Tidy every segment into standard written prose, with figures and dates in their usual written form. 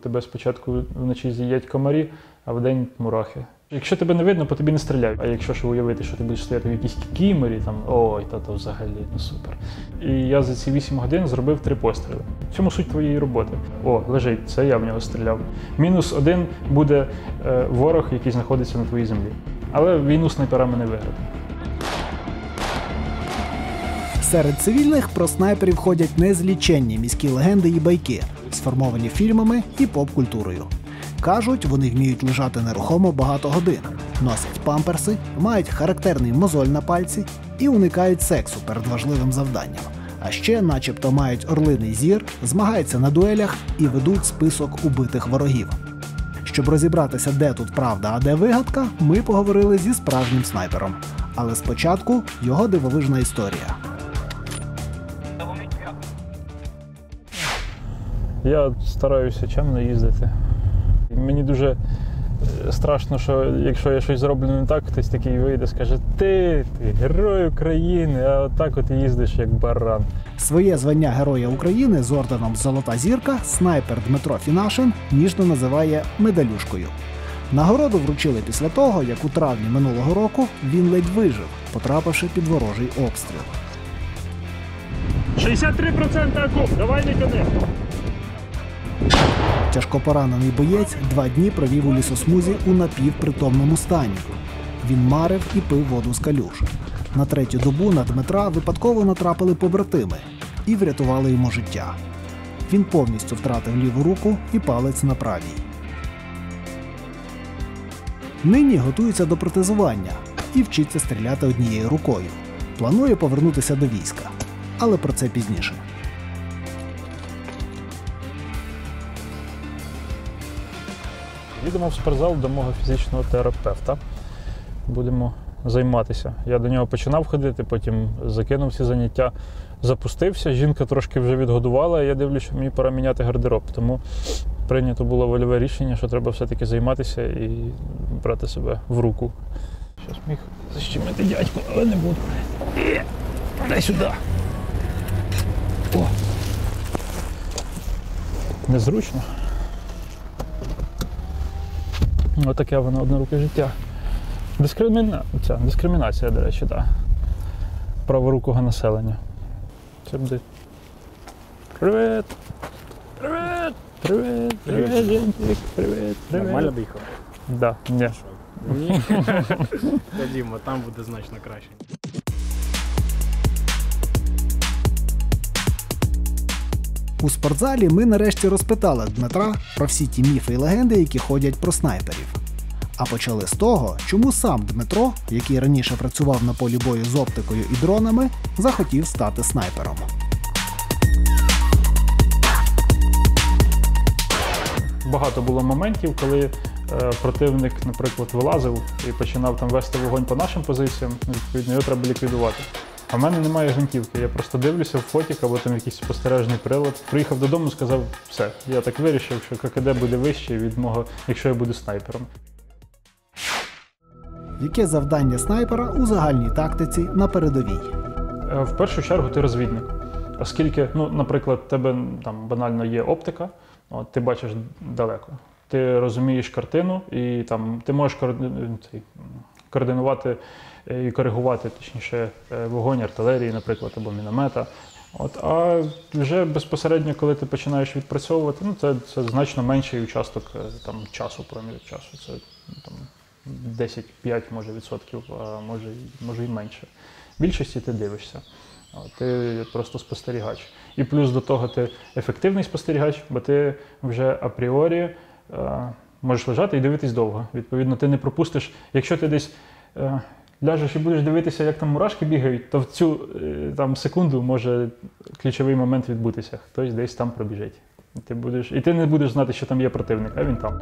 тебе спочатку вночі з'їдять комарі, а вдень мурахи. Якщо тебе не видно, по тобі не стріляють. А якщо ж уявити, що ти будеш стояти в якійсь кікіморі, там, ой, то взагалі, ну супер. І я за ці 8 годин зробив 3 постріли. В цьому суть твоєї роботи. О, лежить, це я в нього стріляв. -1 буде ворог, який знаходиться на твоїй землі. Але війну снайперами не виграти. Серед цивільних про снайперів ходять незліченні міські легенди і байки, сформовані фільмами і поп-культурою. Кажуть, вони вміють лежати нерухомо багато годин, носять памперси, мають характерний мозоль на пальці і уникають сексу перед важливим завданням. А ще начебто мають орлиний зір, змагаються на дуелях і ведуть список убитих ворогів. Щоб розібратися, де тут правда, а де вигадка, ми поговорили зі справжнім снайпером. Але спочатку його дивовижна історія. Я стараюся чемно їздити. Мені дуже страшно, що якщо я щось зроблю не так, хтось такий вийде, скаже: ти герой України, а отак от їздиш як баран. Своє звання Героя України з орденом «Золота зірка» снайпер Дмитро Фінашин ніжно називає медалюшкою. Нагороду вручили після того, як у травні минулого року він ледь вижив, потрапивши під ворожий обстріл. 63% окуп, давай не тяни! Тяжкопоранений боєць 2 дні провів у лісосмузі у напівпритомному стані. Він марив і пив воду з калюж. На 3-ю добу на Дмитра випадково натрапили побратими і врятували йому життя. Він повністю втратив ліву руку і палець на правій. Нині готується до протезування і вчиться стріляти однією рукою. Планує повернутися до війська. Але про це пізніше. Їдемо в спортзал до мого фізичного терапевта. Будемо займатися. Я до нього починав ходити, потім закинув ці заняття, запустився. Жінка трошки вже відгодувала, і я дивлюся, що мені пора міняти гардероб. Тому прийнято було вольове рішення, що треба все-таки займатися і брати себе в руку. Щось міг защемити дядьку, але не буду. Дай сюди. О! Незручно. Отаке воно одноруке життя. Дискримінація, до речі, так. Праворукого населення. Це буде... Привіт! Привіт! Привіт! Привіт, Жентик! Привіт! Привіт! Нормально доїхав? Да, ні. Ні. Ходімо, там буде значно краще. У спортзалі ми нарешті розпитали Дмитра про всі ті міфи і легенди, які ходять про снайперів. А почали з того, чому сам Дмитро, який раніше працював на полі бою з оптикою і дронами, захотів стати снайпером. Багато було моментів, коли противник, наприклад, вилазив і починав там вести вогонь по нашим позиціям, відповідно, його треба ліквідувати. А в мене немає гвинтівки, я просто дивлюся в фотік або там якийсь спостережний прилад. Приїхав додому, сказав: все, я так вирішив, що ККД буде вище від мого, якщо я буду снайпером. Яке завдання снайпера у загальній тактиці на передовій? В першу чергу ти розвідник. Оскільки, ну, наприклад, в тебе там банально є оптика, от, ти бачиш далеко. Ти розумієш картину і там ти можеш координувати і коригувати, точніше, вогонь артилерії, наприклад, або міномета. От, а вже безпосередньо, коли ти починаєш відпрацьовувати, ну, це значно менший участок там, часу, проміжок часу. Це там 10-5 може відсотків, а може і менше. В більшості ти дивишся. Ти просто спостерігач. І плюс до того ти ефективний спостерігач, бо ти вже апріорі можеш лежати і дивитись довго. Відповідно, ти не пропустиш, якщо ти десь ляжеш і будеш дивитися, як там мурашки бігають, то в цю там, секунду може ключовий момент відбутися. Хтось десь там пробіжить. І ти не будеш знати, що там є противник, а він там.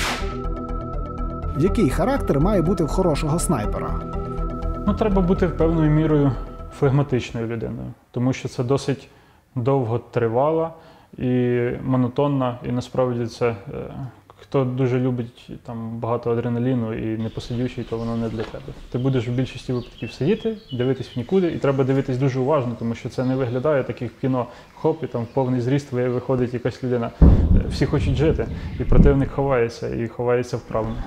Який характер має бути в хорошого снайпера? Ну, треба бути певною мірою флегматичною людиною, тому що це досить довго тривала і монотонна, і насправді це, хто дуже любить там, багато адреналіну і непосидючий, то воно не для тебе. Ти будеш в більшості випадків сидіти, дивитись в нікуди, і треба дивитись дуже уважно, тому що це не виглядає так, як в кіно. Хоп, і там в повний зріст виходить якась людина. всі хочуть жити, і противник ховається, і ховається вправно.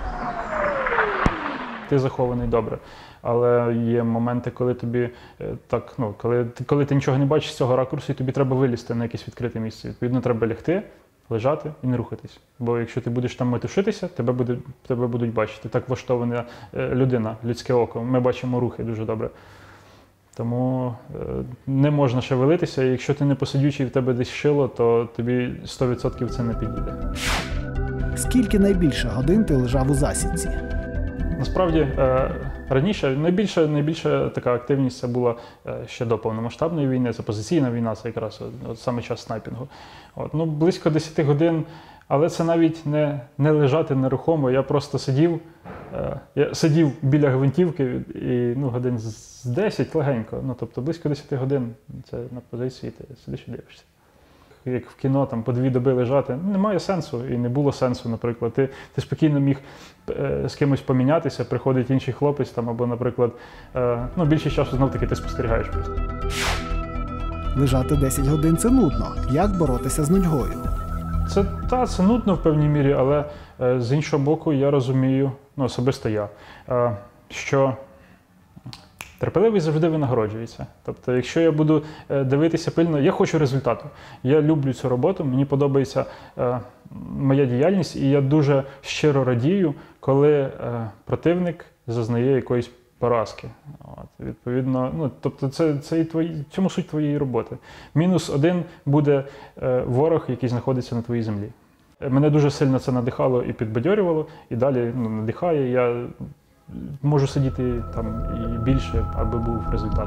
Ти захований добре, але є моменти, коли тобі так, ну, коли ти нічого не бачиш з цього ракурсу, і тобі треба вилізти на якесь відкрите місце. Відповідно, треба лягти, лежати і не рухатись. Бо якщо ти будеш там метушитися, тебе будуть бачити. Так влаштована людина, людське око. Ми бачимо рухи дуже добре. Тому не можна шевелитися, і якщо ти не посидючий, в тебе десь шило, то тобі 100% це не підійде. Скільки найбільше годин ти лежав у засідці? Насправді, раніше найбільша така активність це була ще до повномасштабної війни, це позиційна війна, це якраз от саме час снайпінгу. Ну, близько 10 годин, але це навіть не лежати нерухомо, я просто сидів біля гвинтівки і годин з 10 легенько, ну, тобто близько 10 годин це на позиції, ти сидиш і дивишся. Як в кіно, там, по 2 доби лежати, немає сенсу і не було сенсу, наприклад. Ти спокійно міг з кимось помінятися, приходить інший хлопець, там, або, наприклад, більшість часу знов-таки ти спостерігаєш просто. Лежати 10 годин – це нудно. Як боротися з нудьгою? Це нудно в певній мірі, але з іншого боку я розумію, особисто я, що терпеливість завжди винагороджується. Тобто, якщо я буду дивитися пильно, я хочу результату. Я люблю цю роботу, мені подобається моя діяльність, і я дуже щиро радію, коли противник зазнає якоїсь поразки. Відповідно, тобто це і цьому суть твоєї роботи. -1 буде ворог, який знаходиться на твоїй землі. Мене дуже сильно це надихало і підбадьорювало, і далі надихає. Я можу сидіти там і більше, аби був результат.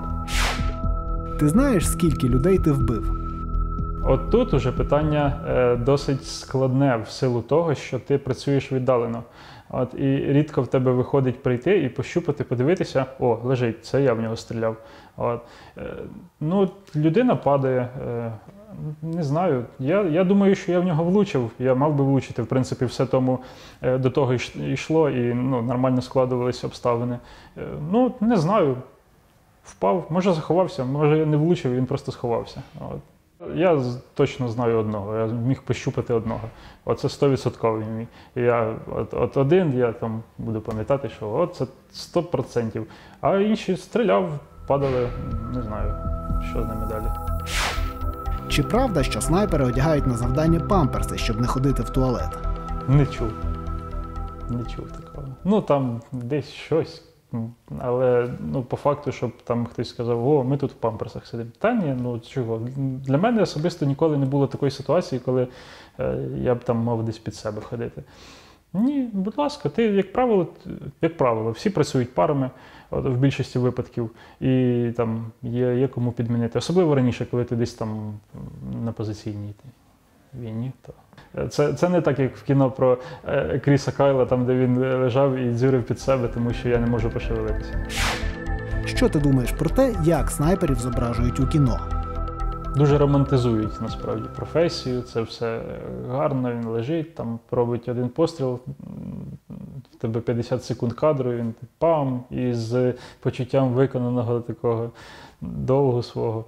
Ти знаєш, скільки людей ти вбив? От тут уже питання досить складне в силу того, що ти працюєш віддалено. І рідко в тебе виходить прийти і пощупати, подивитися, о, лежить, це я в нього стріляв. Людина падає, не знаю, я думаю, що я в нього влучив, я мав би влучити, в принципі, все тому до того йшло і нормально складувалися обставини. Не знаю, впав, може заховався, може я не влучив, він просто сховався. Я точно знаю одного, я міг пощупати одного. Оце 100% мій. Я один, я там буду пам'ятати, що це 100%. А інші стріляв, падали, не знаю, що з ними далі. Чи правда, що снайпери одягають на завдання памперси, щоб не ходити в туалет? Не чув. Не чув такого. Там десь щось. Але по факту, щоб там хтось сказав, о, ми тут в памперсах сидимо. Та ні, чого. Для мене особисто ніколи не було такої ситуації, коли я б там мав десь під себе ходити. Ні, будь ласка, ти, як правило, всі працюють парами в більшості випадків, і там є кому підмінити. Особливо раніше, коли ти десь там на позиційній війні. Це не так, як в кіно про Кріса Кайла, там, де він лежав і дзюрив під себе, тому що я не можу пошевелитися. Що ти думаєш про те, як снайперів зображують у кіно? Дуже романтизують, насправді, професію, це все гарно, він лежить, там робить один постріл, в тебе 50 секунд кадру, він пам, і з почуттям виконаного такого довгу свого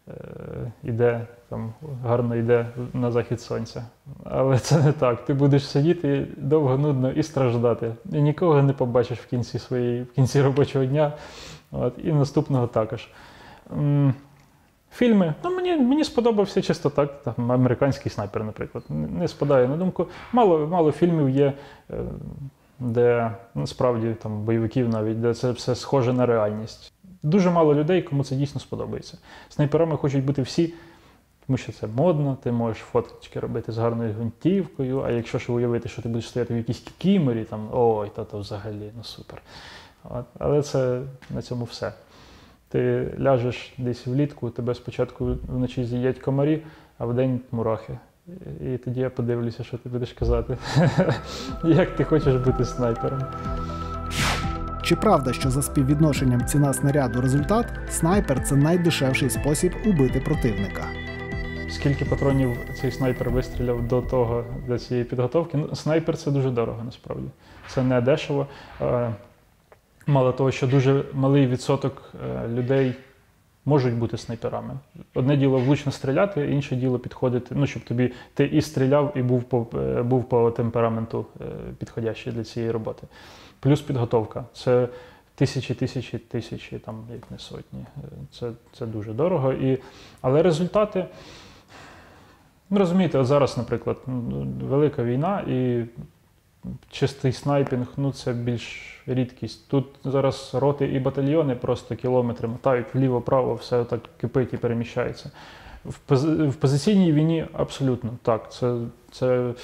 гарно йде на захід сонця. Але це не так. Ти будеш сидіти довго, нудно і страждати. І нікого не побачиш в кінці робочого дня. І наступного також. Фільми. Мені сподобався чисто так. Там, «Американський снайпер», наприклад. Не спадає на думку. Мало фільмів є, де насправді там бойовиків навіть, де це все схоже на реальність. Дуже мало людей, кому це дійсно сподобається. Снайперами хочуть бути всі, тому що це модно, ти можеш фоточки робити з гарною гвинтівкою, а якщо ж уявити, що ти будеш стояти в якійсь кікіморі, там, ой, то взагалі, супер. Але це на цьому все. Ти ляжеш десь влітку, тебе спочатку вночі з'їдять комарі, а вдень мурахи. І тоді я подивлюся, що ти будеш казати. Як ти хочеш бути снайпером. Чи правда, що за співвідношенням ціна снаряду результат, снайпер – це найдешевший спосіб убити противника? Скільки патронів цей снайпер вистріляв до цієї підготовки? Снайпер – це дуже дорого, насправді. Це не дешево. Мало того, що дуже малий відсоток людей можуть бути снайперами. Одне діло влучно стріляти, інше діло підходити, ну, щоб ти і стріляв, і був по темпераменту підходящий для цієї роботи. Плюс підготовка. Це тисячі, там, як не сотні. Це дуже дорого. Але результати, ну, розумієте, от зараз, наприклад, велика війна і чистий снайпінг, ну, це більш рідкість. Тут зараз роти і батальйони просто кілометри мотають вліво-право, все так кипить і переміщається. В позиційній війні абсолютно так. Це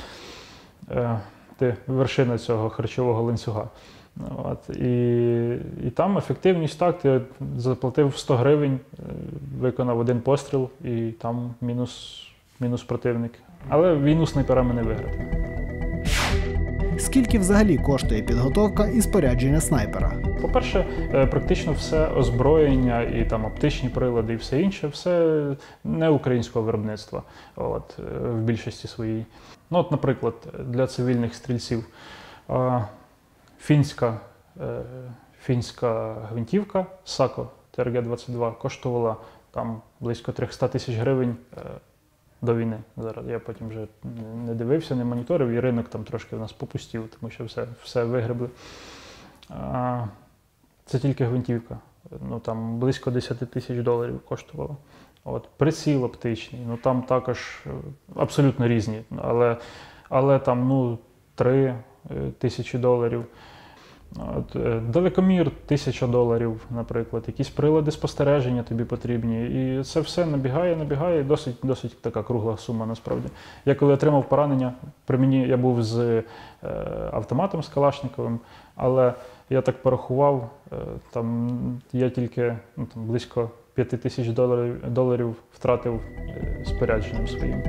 вершина цього харчового ланцюга. От, і там ефективність так, ти заплатив 100 гривень, виконав один постріл і там мінус противник. Але війну снайперами не виграти. Скільки взагалі коштує підготовка і спорядження снайпера? По-перше, практично все озброєння і там оптичні прилади і все інше, все не українського виробництва в більшості своїй. Ну, от, наприклад, для цивільних стрільців фінська гвинтівка SACO TRG-22 коштувала там близько 300 тисяч гривень до війни. Зараз я потім вже не дивився, не моніторив, і ринок там трошки в нас попустів, тому що все вигребли. Це тільки гвинтівка. Ну, там близько 10 тисяч доларів коштувало. От, приціл оптичний, ну там також абсолютно різні, але там, ну, 3 тисячі доларів. От, далекомір 1000 доларів, наприклад, якісь прилади спостереження тобі потрібні. І це все набігає, досить така кругла сума насправді. Я коли отримав поранення, при мені я був з автоматом, з Калашниковим, але я так порахував, там я тільки там, близько 5000 доларів втратив спорядженням своїм.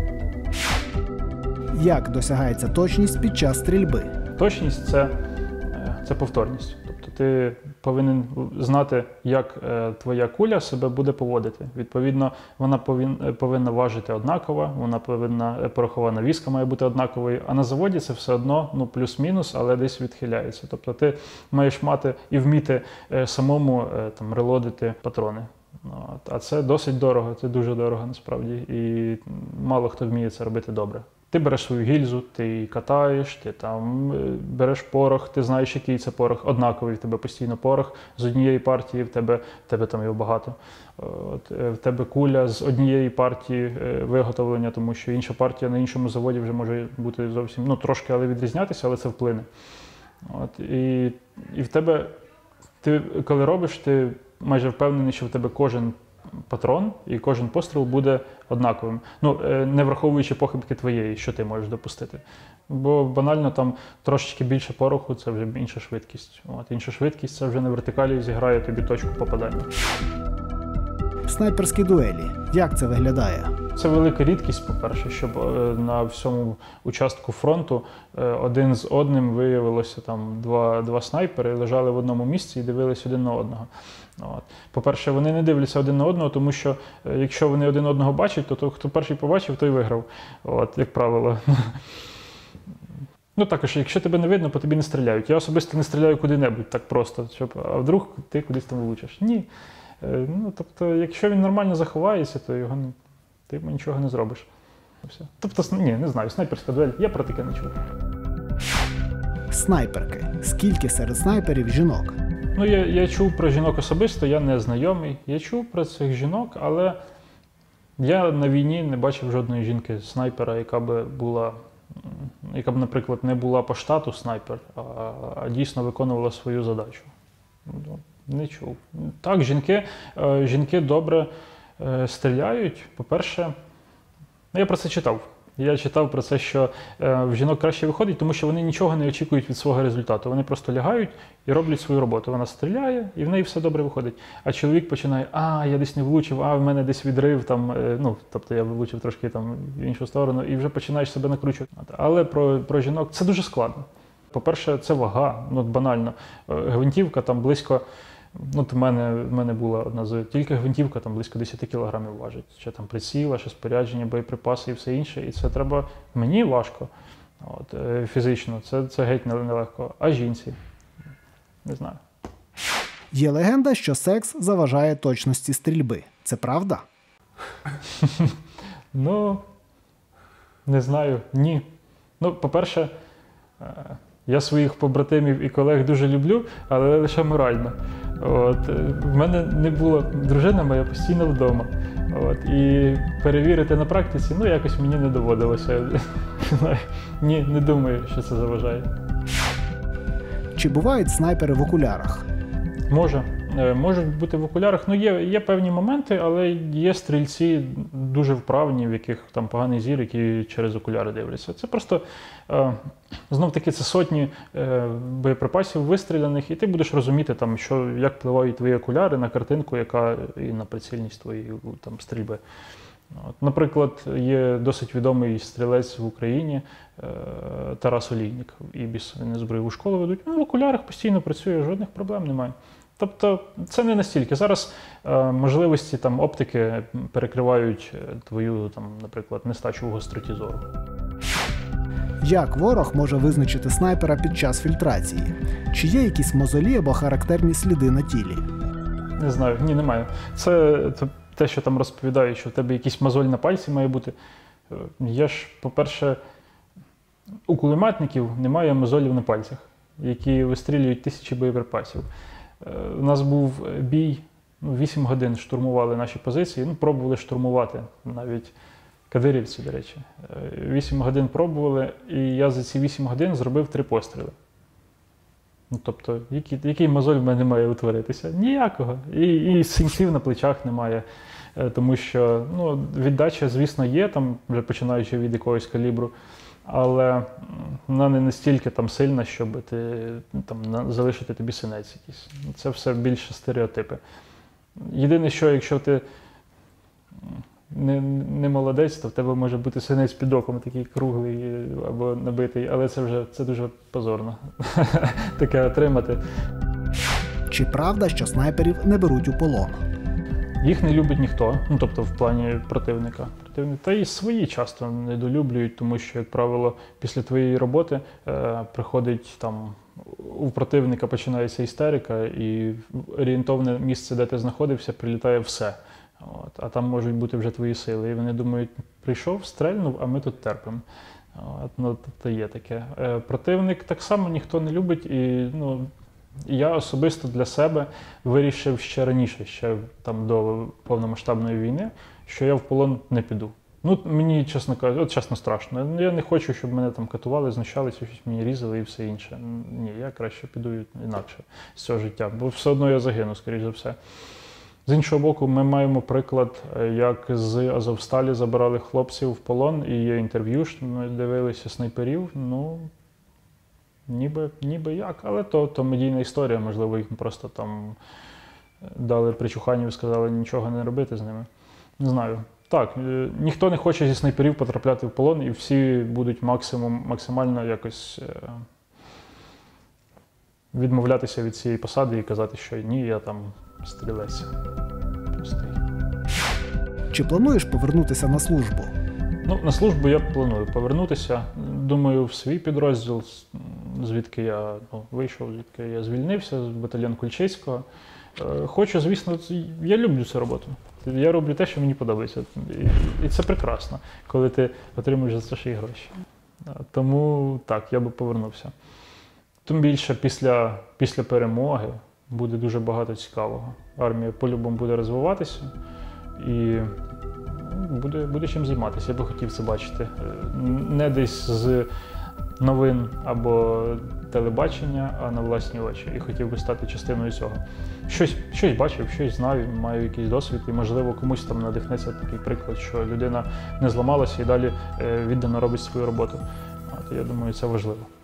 Як досягається точність під час стрільби? Точність – це повторність. Тобто ти повинен знати, як твоя куля себе буде поводити. Відповідно, вона повинна важити однаково, вона порохова навіска має бути однаковою, а на заводі це все одно, ну, плюс-мінус, але десь відхиляється. Тобто ти маєш мати і вміти самому там релодити патрони. А це досить дорого, це дуже дорого насправді, і мало хто вміє це робити добре. Ти береш свою гільзу, ти її катаєш, ти там береш порох, ти знаєш, який це порох, однаковий в тебе постійно порох з однієї партії, в тебе там його багато. В тебе куля з однієї партії виготовлення, тому що інша партія на іншому заводі вже може бути зовсім, ну, трошки, але відрізнятися, але це вплине. І в тебе, ти коли робиш, ти майже впевнений, що в тебе кожен патрон і кожен постріл буде однаковим. Ну, не враховуючи похибки твоєї, що ти можеш допустити. Бо банально там трошечки більше пороху – це вже інша швидкість. Інша швидкість – це вже на вертикалі зіграє тобі точку попадання. Снайперські дуелі. Як це виглядає? Це велика рідкість, по-перше, щоб на всьому участку фронту один з одним виявилося там два снайпери, лежали в одному місці і дивились один на одного. По-перше, вони не дивляться один на одного, тому що якщо вони один одного бачать, то хто перший побачив, той виграв, як правило. Ну також, якщо тебе не видно, по тобі не стріляють. Я особисто не стріляю куди-небудь так просто, а вдруг ти кудись там влучиш. Ні. Ну, тобто, якщо він нормально заховається, то ти йому нічого не зробиш. Все. Тобто, ні, не знаю, снайперська дуель, я про таке не чув. Снайперки. Скільки серед снайперів жінок? Ну, я чув про жінок особисто, я не знайомий. Я чув про цих жінок, але я на війні не бачив жодної жінки-снайпера, яка б, наприклад, не була по штату снайпер, а дійсно виконувала свою задачу. Не чув. Так, жінки добре стріляють. По-перше, я про це читав. Я читав про це, що в жінок краще виходить, тому що вони нічого не очікують від свого результату. Вони просто лягають і роблять свою роботу. Вона стріляє, і в неї все добре виходить. А чоловік починає, я десь не влучив, в мене десь відрив, там, ну, тобто я влучив трошки там в іншу сторону, і вже починаєш себе накручувати. Але про жінок це дуже складно. По-перше, це вага, ну, банально. Гвинтівка там близько, ну, в мене була одна тільки гвинтівка там близько 10 кілограмів важить. Ще там приціла, ще спорядження, боєприпаси і все інше. І це треба, мені важко, фізично, це геть нелегко. А жінці? Не знаю. Є легенда, що секс заважає точності стрільби. Це правда? Ну, не знаю, ні. Ну, по-перше, я своїх побратимів і колег дуже люблю, але лише морально. В мене не було, дружина моя постійно вдома. І перевірити на практиці, ну, якось мені не доводилося. Ні, не думаю, що це заважає. Чи бувають снайпери в окулярах? Можуть бути в окулярах. Ну, є певні моменти, але є стрільці дуже вправні, в яких там поганий зір, які через окуляри дивляться. Це просто, знов-таки, це сотні боєприпасів вистріляних, і ти будеш розуміти, там, як впливають твої окуляри на картинку, яка і на прицільність твоєї там, стрільби. Наприклад, є досить відомий стрілець в Україні Тарас Олійник, Ібіс, він з бойову школу ведуть. Він в окулярах постійно працює, жодних проблем немає. Тобто це не настільки. Зараз можливості там, оптики перекривають твою, там, наприклад, нестачу в гостроті зору. Як ворог може визначити снайпера під час фільтрації? Чи є якісь мозолі або характерні сліди на тілі? Не знаю, ні, немає. Це те, що там розповідають, що в тебе якийсь мозоль на пальці має бути. Є ж, по-перше, у кулеметників немає мозолів на пальцях, які вистрілюють тисячі боєприпасів. У нас був бій, 8 годин штурмували наші позиції, пробували штурмувати, навіть кадирівці, до речі. 8 годин пробували, і я за ці 8 годин зробив 3 постріли. Тобто, який мозоль в мене має утворитися? Ніякого. І синців на плечах немає. Тому що віддача, звісно, є, там, вже починаючи від якогось калібру, але вона не настільки там сильна, щоб залишити тобі синець якийсь. Це все більше стереотипи. Єдине, що якщо ти не молодець, то в тебе може бути синець під оком, такий круглий або набитий, але це дуже позорно таке отримати. Чи правда, що снайперів не беруть у полон? Їх не любить ніхто, тобто в плані противника. Та і свої часто недолюблюють, тому що, як правило, після твоєї роботи приходить там, у противника починається істерика, і орієнтовне місце, де ти знаходився, прилітає все. А там можуть бути вже твої сили. І вони думають, прийшов, стрельнув, а ми тут терпимо. Тобто є таке. Противник так само ніхто не любить, і я особисто для себе вирішив ще раніше, ще там до повномасштабної війни, що я в полон не піду. Мені, чесно кажучи, чесно страшно. Я не хочу, щоб мене там катували, знущалися, щось мені різали і все інше. Ні, я краще піду інакше з цього життя, бо все одно я загину, скоріш за все. З іншого боку, ми маємо приклад, як з Азовсталі забирали хлопців в полон, і є інтерв'ю, ми дивилися снайперів, ніби як, але то медійна історія, можливо, їх просто там дали причуханів і сказали нічого не робити з ними. Не знаю. Так, ніхто не хоче зі снайперів потрапляти в полон, і всі будуть максимально якось відмовлятися від цієї посади і казати, що ні, я там стрілець. Простий. Чи плануєш повернутися на службу? На службу я планую повернутися. Думаю, в свій підрозділ, звідки я вийшов, звідки я звільнився, з батальйон Кульчицького. Хочу, звісно, я люблю цю роботу. Я роблю те, що мені подобається. І це прекрасно, коли ти отримуєш за це ще й гроші. Тому так, я би повернувся. Тим більше після перемоги буде дуже багато цікавого. Армія по-любому буде розвиватися і буде чим займатися. Я би хотів це бачити. Не десь з новин або телебачення, а на власні очі. І хотів би стати частиною цього. Щось бачив, щось знаю, маю якийсь досвід, і, можливо, комусь там надихнеться такий приклад, що людина не зламалася і далі віддано робить свою роботу. Я думаю, це важливо.